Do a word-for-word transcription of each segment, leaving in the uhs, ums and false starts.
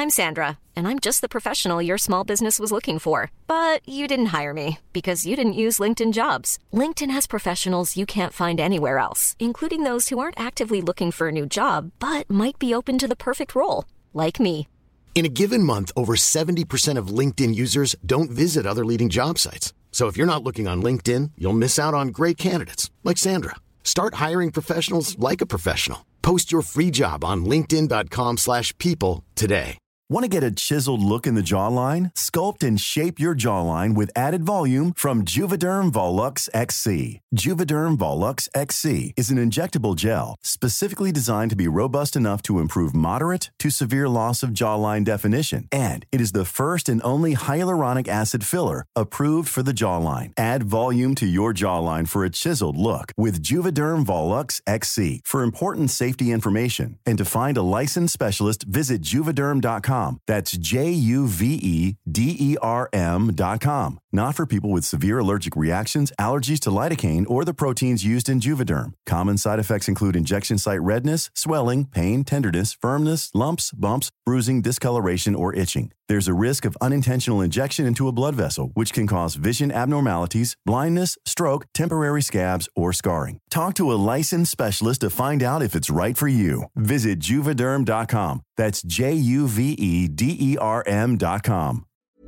I'm Sandra, and I'm just the professional your small business was looking for. But you didn't hire me because you didn't use LinkedIn Jobs. LinkedIn has professionals you can't find anywhere else, including those who aren't actively looking for a new job, but might be open to the perfect role, like me. In a given month, over seventy percent of LinkedIn users don't visit other leading job sites. So if you're not looking on LinkedIn, you'll miss out on great candidates like Sandra. Start hiring professionals like a professional. Post your free job on linkedin dot com slash people today. Want to get a chiseled look in the jawline? Sculpt and shape your jawline with added volume from Juvederm Volux X C. Juvederm Volux X C is an injectable gel specifically designed to be robust enough to improve moderate to severe loss of jawline definition. And it is the first and only hyaluronic acid filler approved for the jawline. Add volume to your jawline for a chiseled look with Juvederm Volux X C. For important safety information and to find a licensed specialist, visit juvederm dot com. That's J U V E D E R M dot com. Not for people with severe allergic reactions, allergies to lidocaine, or the proteins used in Juvederm. Common side effects include injection site redness, swelling, pain, tenderness, firmness, lumps, bumps, bruising, discoloration, or itching. There's a risk of unintentional injection into a blood vessel, which can cause vision abnormalities, blindness, stroke, temporary scabs, or scarring. Talk to a licensed specialist to find out if it's right for you. Visit juvederm dot com. That's J U V E D E R M dot com.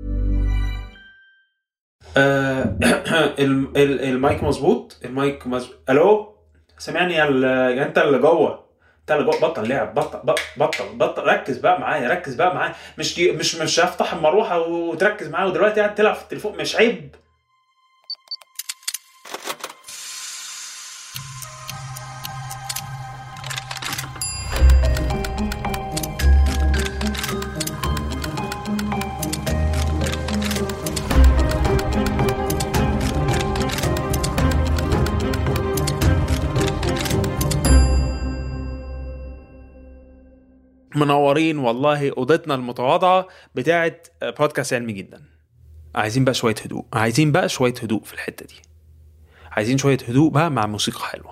آه المايك مظبوط. المايك مظبوط. الو سامعني يا انت اللي جوه، انت اللي جوه. بطل لعب، بطل بطل بطل ركز بقى معايا، ركز بقى معايا. مش مش مش هفتح المروحه وتركز معايا ودلوقتي قاعد تلعب في التليفون. مش عيب؟ منورين والله. اوضتنا المتواضعه بتاعه بودكاست علمي جدا. عايزين بقى شويه هدوء، عايزين بقى شويه هدوء في الحته دي، عايزين شويه هدوء بقى مع موسيقى حلوه.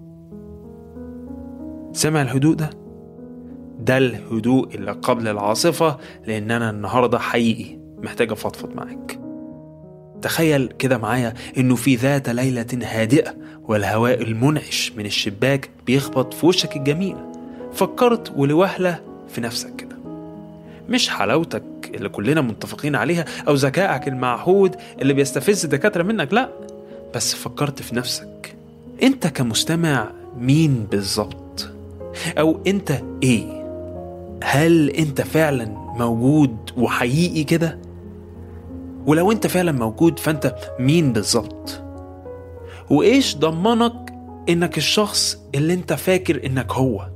سمع الهدوء ده؟ ده الهدوء اللي قبل العاصفه، لان انا النهارده حقيقي محتاج افضفض معاك. تخيل كده معايا انه في ذات ليله هادئه والهواء المنعش من الشباك بيخبط في وشك الجميل. فكرت ولوهلة في نفسك كده، مش حلاوتك اللي كلنا متفقين عليها أو ذكائك المعهود اللي بيستفز الدكاترة منك، لا، بس فكرت في نفسك. أنت كمستمع مين بالظبط؟ أو أنت إيه؟ هل أنت فعلا موجود وحقيقي كده؟ ولو أنت فعلا موجود فأنت مين بالظبط؟ وإيش ضمنك إنك الشخص اللي أنت فاكر إنك هو؟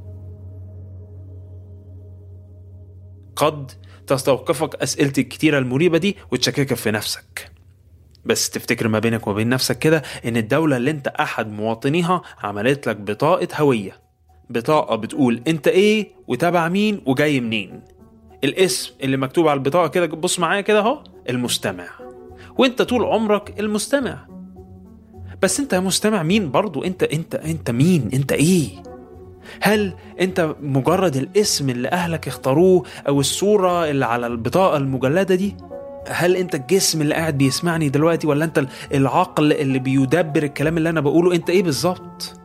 قد تستوقفك أسئلتي الكتيرة المريبة دي وتشككك في نفسك، بس تفتكر ما بينك وبين نفسك كده إن الدولة اللي انت أحد مواطنيها عملت لك بطاقة هوية، بطاقة بتقول انت ايه وتابع مين وجاي منين. الاسم اللي مكتوب على البطاقة كده، بص معايا كده اهو، المستمع. وانت طول عمرك المستمع، بس انت مستمع مين برضو؟ انت انت انت مين؟ انت ايه؟ هل انت مجرد الاسم اللي اهلك اختاروه او الصورة اللي على البطاقة المجلدة دي؟ هل انت الجسم اللي قاعد بيسمعني دلوقتي، ولا انت العقل اللي بيدبر الكلام اللي انا بقوله؟ انت ايه بالظبط؟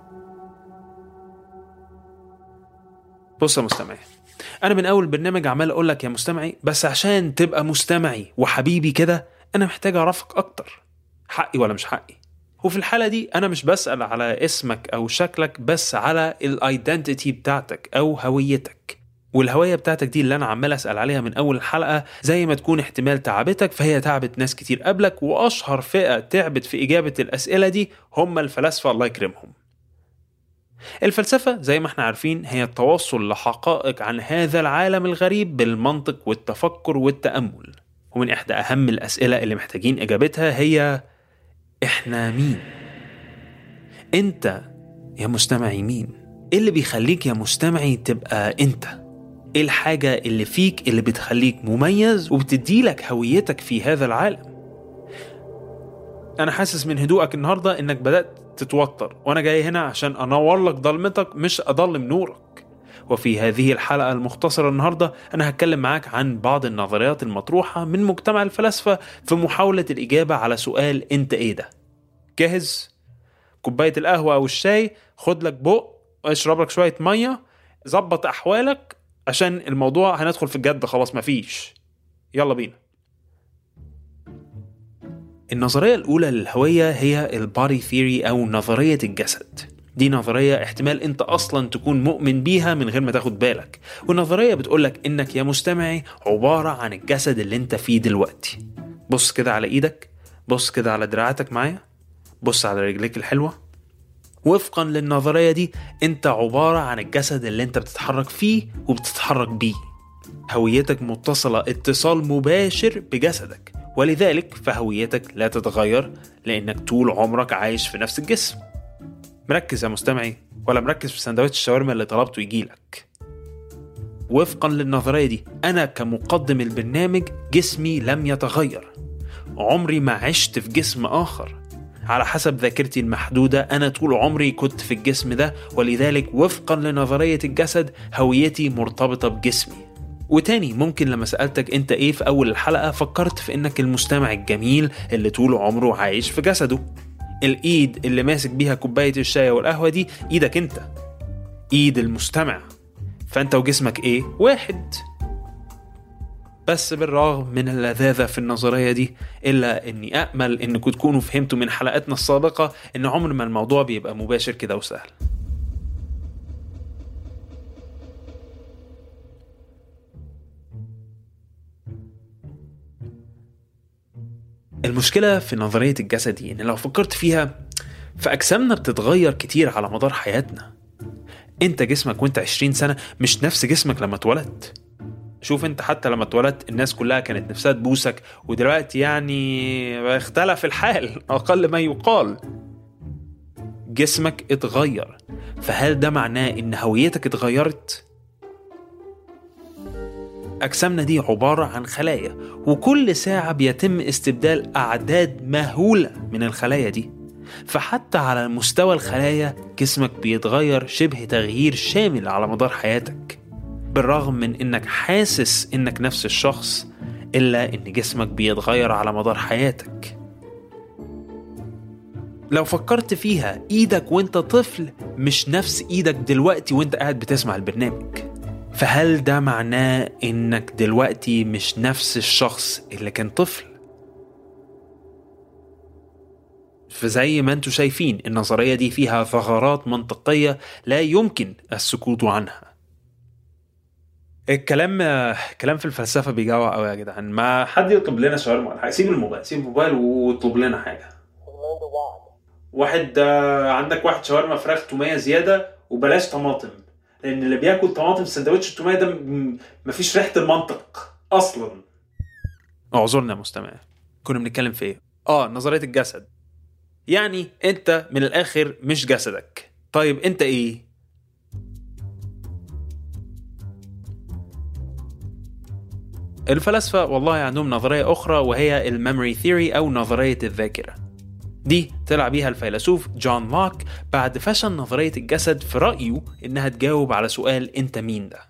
بص يا مستمعي، انا من اول برنامج عمال اقول لك يا مستمعي، بس عشان تبقى مستمعي وحبيبي كده انا محتاج اعرفك اكتر. حقي ولا مش حقي؟ وفي الحالة دي أنا مش بسأل على اسمك أو شكلك، بس على الايدنتيتي بتاعتك أو هويتك. والهوية بتاعتك دي اللي أنا عمال أسأل عليها من أول الحلقة، زي ما تكون احتمال تعبتك فهي تعبت ناس كتير قبلك، وأشهر فئة تعبت في إجابة الأسئلة دي هم الفلاسفة الله يكرمهم. الفلسفة زي ما احنا عارفين هي التوصل لحقائق عن هذا العالم الغريب بالمنطق والتفكر والتأمل. ومن إحدى أهم الأسئلة اللي محتاجين إجابتها هي إحنا مين؟ أنت يا مستمعي مين؟ إيه اللي بيخليك يا مستمعي تبقى أنت؟ إيه الحاجة اللي فيك اللي بتخليك مميز وبتديلك هويتك في هذا العالم؟ أنا حاسس من هدوءك النهاردة إنك بدأت تتوتر، وأنا جاي هنا عشان أنور لك ضلمتك مش أضلم نورك. وفي هذه الحلقة المختصرة النهاردة أنا هتكلم معاك عن بعض النظريات المطروحة من مجتمع الفلاسفة في محاولة الإجابة على سؤال أنت إيه ده؟ جاهز؟ كوباية القهوة أو الشاي، خد لك بق، اشرب لك شوية مية، زبط أحوالك عشان الموضوع هندخل في الجد خلاص مفيش. يلا بينا. النظرية الأولى للهوية هي البادي ثيوري أو نظرية الجسد. دي نظرية احتمال انت اصلا تكون مؤمن بيها من غير ما تاخد بالك، والنظرية بتقولك انك يا مستمعي عبارة عن الجسد اللي انت فيه دلوقتي. بص كده على ايدك، بص كده على دراعاتك معايا، بص على رجليك الحلوة. وفقا للنظرية دي انت عبارة عن الجسد اللي انت بتتحرك فيه وبتتحرك بيه. هويتك متصلة اتصال مباشر بجسدك، ولذلك فهويتك لا تتغير لانك طول عمرك عايش في نفس الجسم. مركز يا مستمعي ولا مركز في سندوتش الشاورما اللي طلبته يجيلك؟ وفقا للنظرية دي أنا كمقدم البرنامج جسمي لم يتغير، عمري ما عشت في جسم آخر. على حسب ذاكرتي المحدودة أنا طول عمري كنت في الجسم ده، ولذلك وفقا لنظرية الجسد هويتي مرتبطة بجسمي. وتاني ممكن لما سألتك انت ايه في أول الحلقة فكرت في انك المستمع الجميل اللي طول عمره عايش في جسده. الايد اللي ماسك بيها كوباية الشاي والقهوة دي ايدك انت، ايد المستمع، فانت وجسمك ايه؟ واحد. بس بالرغم من اللذاذة في النظرية دي الا اني امل انكم تكونوا فهمتوا من حلقاتنا السابقة ان عمر ما الموضوع بيبقى مباشر كده وسهل. المشكلة في نظرية الجسد دي إن لو فكرت فيها فأجسامنا بتتغير كتير على مدار حياتنا. أنت جسمك وأنت عشرين سنة مش نفس جسمك لما اتولدت. شوف أنت حتى لما اتولدت الناس كلها كانت نفسها تبوسك، ودلوقتي يعني اختلف الحال أقل ما يقال. جسمك اتغير، فهل ده معناه إن هويتك اتغيرت؟ أجسامنا دي عبارة عن خلايا، وكل ساعة بيتم استبدال أعداد مهولة من الخلايا دي. فحتى على المستوى الخلايا جسمك بيتغير شبه تغيير شامل على مدار حياتك. بالرغم من إنك حاسس إنك نفس الشخص إلا إن جسمك بيتغير على مدار حياتك. لو فكرت فيها إيدك وإنت طفل مش نفس إيدك دلوقتي وإنت قاعد بتسمع البرنامج. فهل ده معناه إنك دلوقتي مش نفس الشخص اللي كان طفل؟ فزي ما انتوا شايفين النظرية دي فيها ثغرات منطقية لا يمكن السكوت عنها. الكلام كلام في الفلسفة بيجوع قوي يا جدعان. ما حد يطلب لنا شاورما ولا حاجة، سيب الموبايل سيب الموبايل واطلب لنا حاجة. واحد عندك واحد شاورما فراخ تومية زيادة وبلاش طماطم، لأن اللي بياكل طماطم في سندوتش التومية ده مفيش ريحة المنطق أصلا. اعذرنا يا مستمع، كنا بنتكلم في ايه؟ اه نظرية الجسد. يعني انت من الآخر مش جسدك. طيب انت ايه؟ الفلاسفة والله عندهم نظرية أخرى وهي الميموري ثيوري أو نظرية الذاكرة. دي طلع بيها الفيلسوف جون لوك بعد فشل نظرية الجسد في رأيه إنها تجاوب على سؤال أنت مين ده.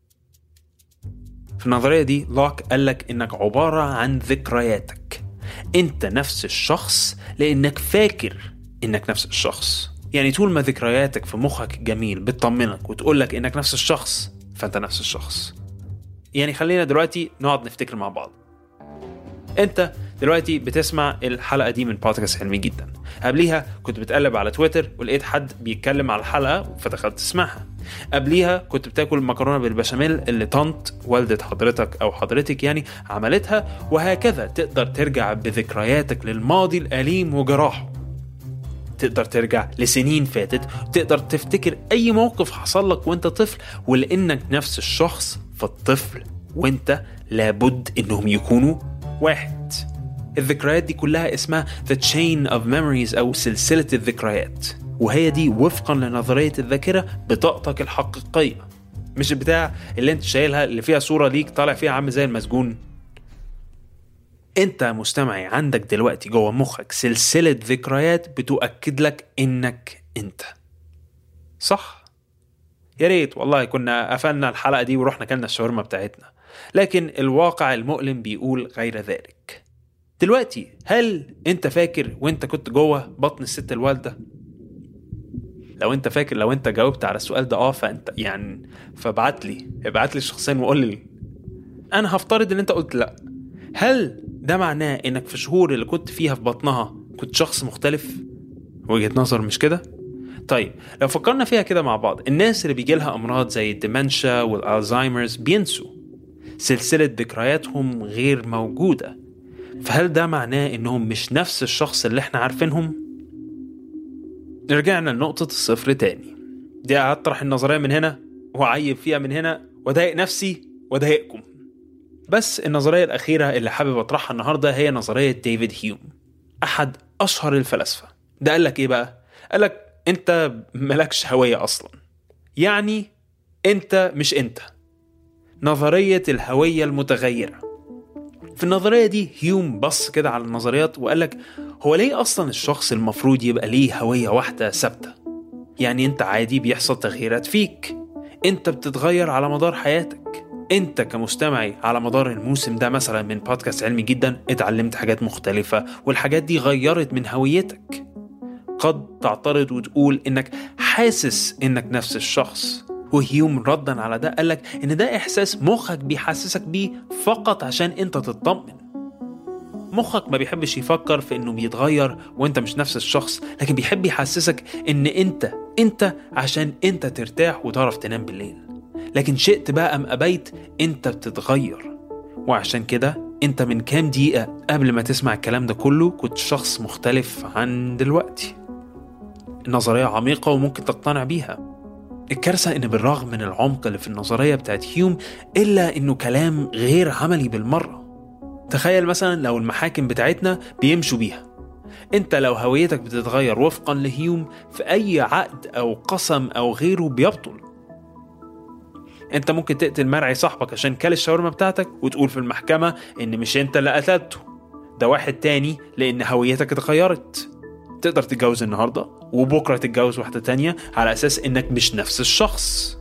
في النظرية دي لوك قالك إنك عبارة عن ذكرياتك. أنت نفس الشخص لأنك فاكر إنك نفس الشخص. يعني طول ما ذكرياتك في مخك جميل بتطمنك وتقولك إنك نفس الشخص فأنت نفس الشخص. يعني خلينا دلوقتي نقعد نفتكر مع بعض. أنت دلوقتي بتسمع الحلقة دي من بودكاست علمي جدا. قبليها كنت بتقلب على تويتر ولقيت حد بيتكلم على الحلقة فدخلت تسمعها. قبليها كنت بتاكل مكرونة بالبشاميل اللي طنط والدة حضرتك أو حضرتك يعني عملتها، وهكذا تقدر ترجع بذكرياتك للماضي الأليم وجراحه. تقدر ترجع لسنين فاتت، تقدر تفتكر أي موقف حصل لك وانت طفل، ولأنك نفس الشخص فالطفل وانت لابد انهم يكونوا واحد. الذكريات دي كلها اسمها The Chain of Memories أو سلسلة الذكريات، وهي دي وفقا لنظرية الذاكرة بطاقتك الحقيقية، مش البتاع اللي انت شايلها اللي فيها صورة ليك طالع فيها عم زي المسجون. انت مستمعي عندك دلوقتي جوه مخك سلسلة ذكريات بتؤكد لك انك انت صح. يا ريت والله كنا قفلنا الحلقة دي ورحنا كلنا الشاورما بتاعتنا، لكن الواقع المؤلم بيقول غير ذلك. دلوقتي هل انت فاكر وانت كنت جوه بطن الست الوالدة؟ لو انت فاكر، لو انت جاوبت على السؤال ده اه فانت يعني فابعت لي ابعت لي شخصيا وقول لي. انا هفترض ان انت قلت لا. هل ده معناه انك في الشهور اللي كنت فيها في بطنها كنت شخص مختلف؟ وجهة نظر مش كده؟ طيب لو فكرنا فيها كده مع بعض، الناس اللي بيجي لها امراض زي الديمنشا والالزايمرز بينسوا، سلسلة ذكرياتهم غير موجودة. فهل ده معناه انهم مش نفس الشخص اللي احنا عارفينهم؟ رجعنا لنقطة الصفر تاني، دي هطرح النظرية من هنا وعيب فيها من هنا وضايق نفسي وضايقكم. بس النظرية الأخيرة اللي حابب أطرحها النهاردة هي نظرية ديفيد هيوم، أحد أشهر الفلاسفة. ده قالك إيه بقى؟ قالك أنت ملكش هوية أصلا، يعني أنت مش أنت. نظرية الهوية المتغيرة. في النظرية دي هيوم بص كده على النظريات وقالك هو ليه أصلا الشخص المفروض يبقى ليه هوية واحدة ثابتة؟ يعني أنت عادي بيحصل تغييرات فيك، أنت بتتغير على مدار حياتك. أنت كمستمعي على مدار الموسم ده مثلا من بودكاست علمي جدا اتعلمت حاجات مختلفة، والحاجات دي غيرت من هويتك. قد تعترض وتقول إنك حاسس إنك نفس الشخص، وهيوم رداً على ده قالك إن ده إحساس مخك بيحسسك بيه فقط عشان أنت تطمن. مخك ما بيحبش يفكر في إنه بيتغير وأنت مش نفس الشخص، لكن بيحب يحسسك إن أنت أنت عشان أنت ترتاح وتعرف تنام بالليل. لكن شئت بقى أم أبيت أنت بتتغير، وعشان كده أنت من كام دقيقة قبل ما تسمع الكلام ده كله كنت شخص مختلف عن دلوقتي. النظرية عميقة وممكن تقتنع بيها. الكارثة إن بالرغم من العمق اللي في النظرية بتاعت هيوم إلا إنه كلام غير عملي بالمرة. تخيل مثلا لو المحاكم بتاعتنا بيمشوا بيها، أنت لو هويتك بتتغير وفقا لهيوم في أي عقد أو قسم أو غيره بيبطل. أنت ممكن تقتل مرعي صاحبك عشان كل الشاورما بتاعتك وتقول في المحكمة إن مش أنت اللي قتلته، ده واحد تاني لأن هويتك اتغيرت. تقدر تتجوز النهاردة وبكرة تتجوز واحدة تانية على أساس إنك مش نفس الشخص.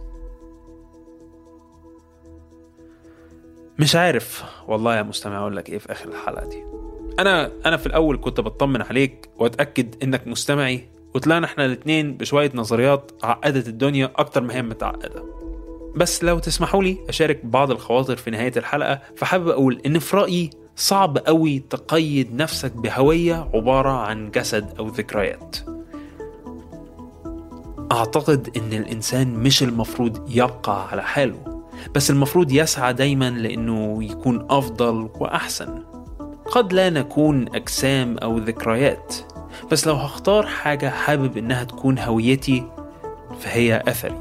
مش عارف والله يا مستمع أقول لك إيه في آخر الحلقة دي. أنا أنا في الأول كنت بطمن عليك وأتأكد إنك مستمعي، وطلعنا إحنا الاتنين بشوية نظريات عقدت الدنيا أكتر ما هي متعقدة. بس لو تسمحوا لي أشارك بعض الخواطر في نهاية الحلقة، فحابب أقول إن في رأيي صعب قوي تقيد نفسك بهوية عبارة عن جسد أو ذكريات. أعتقد إن الإنسان مش المفروض يبقى على حاله، بس المفروض يسعى دايما لأنه يكون أفضل وأحسن. قد لا نكون أجسام أو ذكريات، بس لو هختار حاجة حابب إنها تكون هويتي فهي أثري.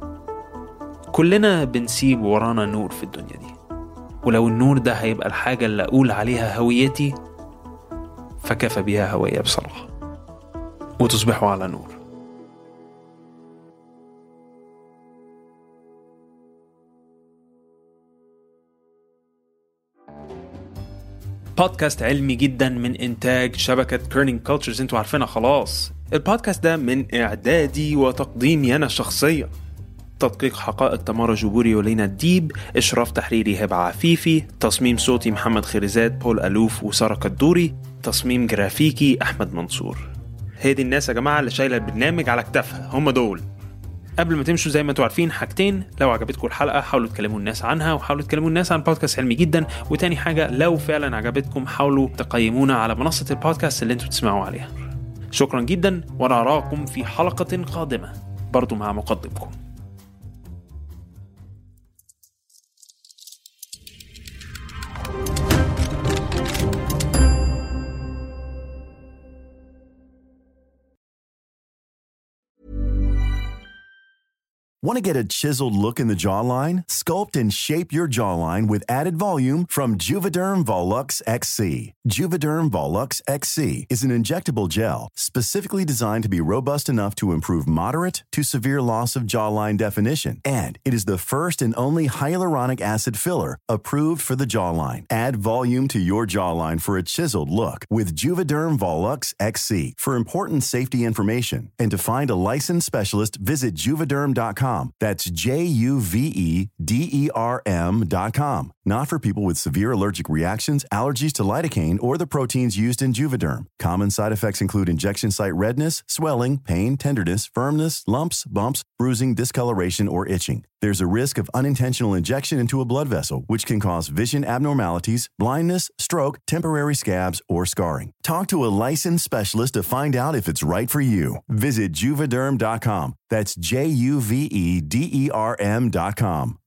كلنا بنسيب ورانا نور في الدنيا دي، ولو النور ده هيبقى الحاجة اللي أقول عليها هويتي فكفى بيها هوية بصراحة، وتصبحوا على نور. بودكاست علمي جدا من إنتاج شبكة كيرنينج كولتشرز، انتوا عارفينها خلاص. البودكاست ده من إعدادي وتقديمي أنا شخصيا، تدقيق حقائق تمارا جبوري ولينا الديب، إشراف تحريري هبة عفيفي، تصميم صوتي محمد خيرزاد، بول ألوف وسارة كدوري، تصميم جرافيكي أحمد منصور. هي دي الناس يا جماعة اللي شايلة البرنامج على كتافها، هم دول. قبل ما تمشوا زي ما انتوا عارفين حاجتين: لو عجبتكم الحلقة حاولوا تكلموا الناس عنها، وحاولوا تكلموا الناس عن بودكاست علمي جدا. وتاني حاجة، لو فعلا عجبتكم حاولوا تقيمونا على منصة البودكاست اللي انتوا تسمعوا عليها. شكرا جدا، وانا أراكم في حلقة قادمة برضو مع مقدمكم. Want to get a chiseled look in the jawline? Sculpt and shape your jawline with added volume from Juvederm Volux X C. Juvederm Volux X C is an injectable gel specifically designed to be robust enough to improve moderate to severe loss of jawline definition. And it is the first and only hyaluronic acid filler approved for the jawline. Add volume to your jawline for a chiseled look with Juvederm Volux X C. For important safety information and to find a licensed specialist, visit juvederm dot com com. That's J U V E D E R M dot com. Not for people with severe allergic reactions, allergies to lidocaine, or the proteins used in Juvederm. Common side effects include injection site redness, swelling, pain, tenderness, firmness, lumps, bumps, bruising, discoloration, or itching. There's a risk of unintentional injection into a blood vessel, which can cause vision abnormalities, blindness, stroke, temporary scabs, or scarring. Talk to a licensed specialist to find out if it's right for you. Visit Juvederm dot com. That's J U V E D E R M dot com.